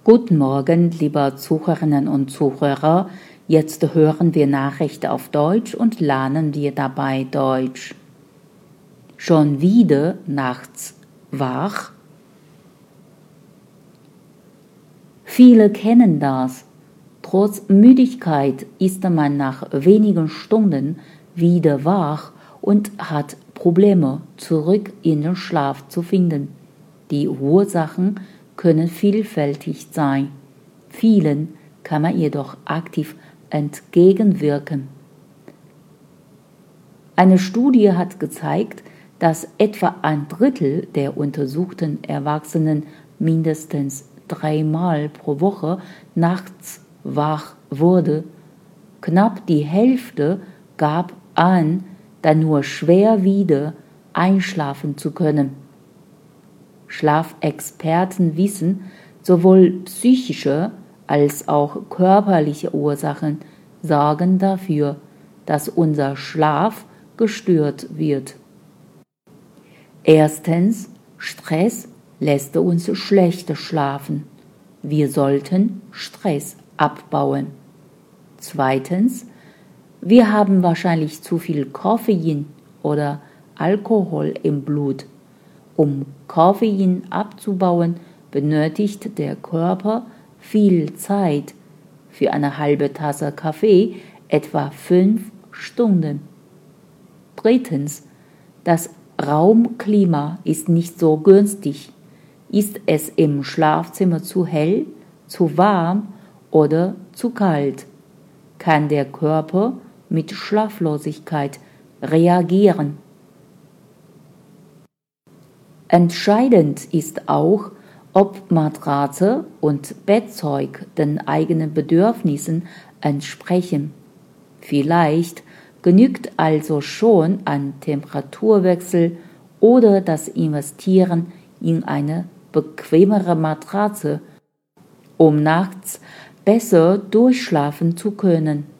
Guten Morgen, liebe Zuhörerinnen und Zuhörer. Jetzt hören wir Nachrichten auf Deutsch und lernen wir dabei Deutsch. Schon wieder nachts wach? Viele kennen das. Trotz Müdigkeit ist man nach wenigen Stunden wieder wach und hat Probleme, zurück in den Schlaf zu finden. Die Ursachen können vielfältig sein. Vielen kann man jedoch aktiv entgegenwirken. Eine Studie hat gezeigt, dass etwa ein Drittel der untersuchten Erwachsenen mindestens 3-mal pro Woche nachts wach wurde. Knapp die Hälfte gab an, dann nur schwer wieder einschlafen zu können. Schlafexperten wissen, sowohl psychische als auch körperliche Ursachen sorgen dafür, dass unser Schlaf gestört wird. Erstens, Stress lässt uns schlechter schlafen. Wir sollten Stress abbauen. Zweitens, wir haben wahrscheinlich zu viel Koffein oder Alkohol im Blut. Um Koffein abzubauen, benötigt der Körper viel Zeit. Für eine halbe Tasse Kaffee etwa 5 Stunden. Drittens, das Raumklima ist nicht so günstig. Ist es im Schlafzimmer zu hell, zu warm oder zu kalt, kann der Körper mit Schlaflosigkeit reagieren. Entscheidend ist auch, ob Matratze und Bettzeug den eigenen Bedürfnissen entsprechen. Vielleicht genügt also schon ein Temperaturwechsel oder das Investieren in eine bequemere Matratze, um nachts besser durchschlafen zu können.